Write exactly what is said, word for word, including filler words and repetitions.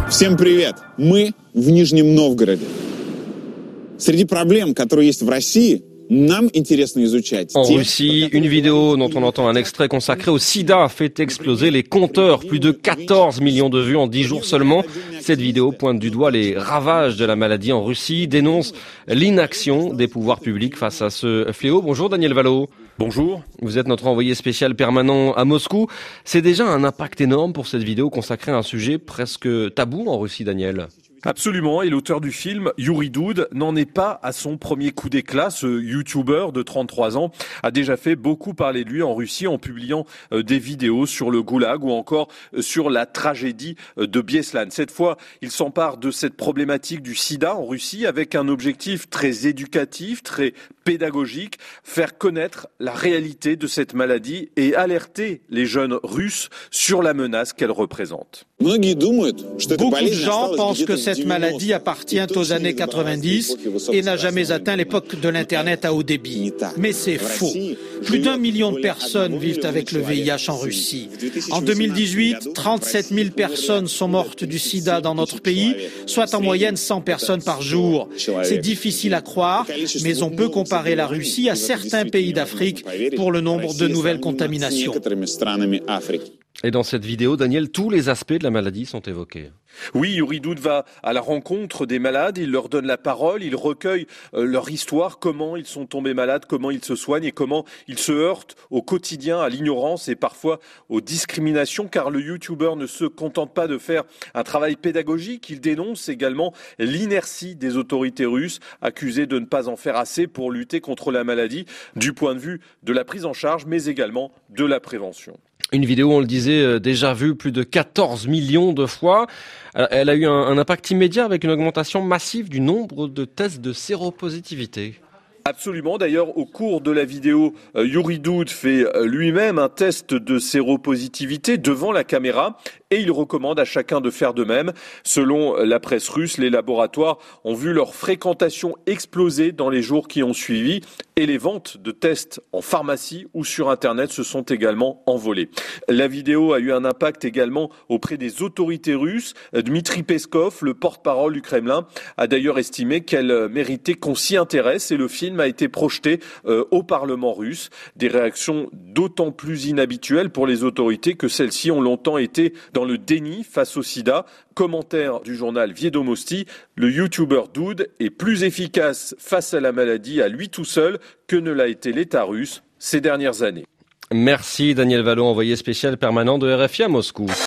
Всем привет! Мы в Нижнем Новгороде. Среди проблем, которые есть в России, нам интересно изучать. En Russie, une vidéo dont on entend un extrait consacré au sida a fait exploser les compteurs. Plus de quatorze millions de vues en dix jours seulement. Cette vidéo pointe du doigt les ravages de la maladie en Russie, dénonce l'inaction des pouvoirs publics face à ce fléau. Bonjour Daniel Valo. Bonjour. Vous êtes notre envoyé spécial permanent à Moscou. C'est déjà un impact énorme pour cette vidéo consacrée à un sujet presque tabou en Russie, Daniel. Absolument, et l'auteur du film, Yuri Doud, n'en est pas à son premier coup d'éclat. Ce youtubeur de trente-trois ans a déjà fait beaucoup parler de lui en Russie en publiant des vidéos sur le goulag ou encore sur la tragédie de Bieslan. Cette fois, il s'empare de cette problématique du sida en Russie avec un objectif très éducatif, très pédagogique, faire connaître la réalité de cette maladie et alerter les jeunes Russes sur la menace qu'elle représente. Beaucoup de gens pensent que cette maladie appartient aux années quatre-vingt-dix et n'a jamais atteint l'époque de l'Internet à haut débit. Mais c'est faux. Plus d'un million de personnes vivent avec le V I H en Russie. En deux mille dix-huit, trente-sept mille personnes sont mortes du sida dans notre pays, soit en moyenne cent personnes par jour. C'est difficile à croire, mais on peut comparer la Russie à certains pays d'Afrique pour le nombre de nouvelles contaminations. Et dans cette vidéo, Daniel, tous les aspects de la maladie sont évoqués. Oui, Yuri Doud va à la rencontre des malades, il leur donne la parole, il recueille euh, leur histoire, comment ils sont tombés malades, comment ils se soignent et comment ils se heurtent au quotidien à l'ignorance et parfois aux discriminations, car le youtubeur ne se contente pas de faire un travail pédagogique, il dénonce également l'inertie des autorités russes, accusées de ne pas en faire assez pour lutter contre la maladie, du point de vue de la prise en charge, mais également de la prévention. Une vidéo, on le disait, déjà vue plus de quatorze millions de fois. Elle a eu un, un impact immédiat avec une augmentation massive du nombre de tests de séropositivité. Absolument. D'ailleurs, au cours de la vidéo, Yuri Doud fait lui-même un test de séropositivité devant la caméra et il recommande à chacun de faire de même. Selon la presse russe, les laboratoires ont vu leur fréquentation exploser dans les jours qui ont suivi et les ventes de tests en pharmacie ou sur Internet se sont également envolées. La vidéo a eu un impact également auprès des autorités russes. Dmitri Peskov, le porte-parole du Kremlin, a d'ailleurs estimé qu'elle méritait qu'on s'y intéresse et le film a été projeté euh, au Parlement russe. Des réactions d'autant plus inhabituelles pour les autorités que celles-ci ont longtemps été dans le déni face au sida. Commentaire du journal Viedomosti, le youtubeur Doud est plus efficace face à la maladie à lui tout seul que ne l'a été l'État russe ces dernières années. Merci Daniel Valo, envoyé spécial permanent de R F I à Moscou.